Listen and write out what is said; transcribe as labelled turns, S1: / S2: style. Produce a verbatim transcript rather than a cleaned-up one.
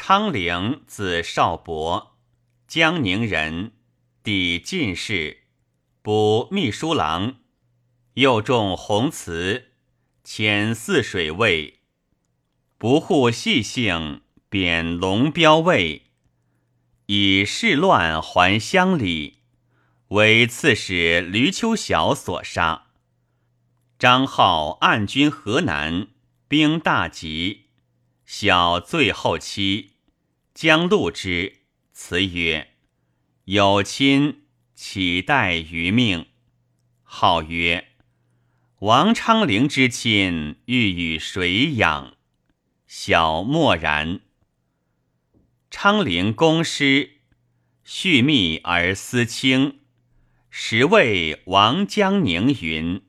S1: 昌龄，字少伯，江宁人，抵进士，补秘书郎，又中弘慈，迁泗水尉，不护细性，贬龙标尉，以事乱还乡里，为刺史闾丘晓所杀。张浩暗军河南，兵大急，晓最后期，将戮之，辞曰：有亲，岂待于命？号曰：王昌龄之亲，欲与谁养？晓默然。昌龄公师，蓄密而思轻，时谓王江宁云：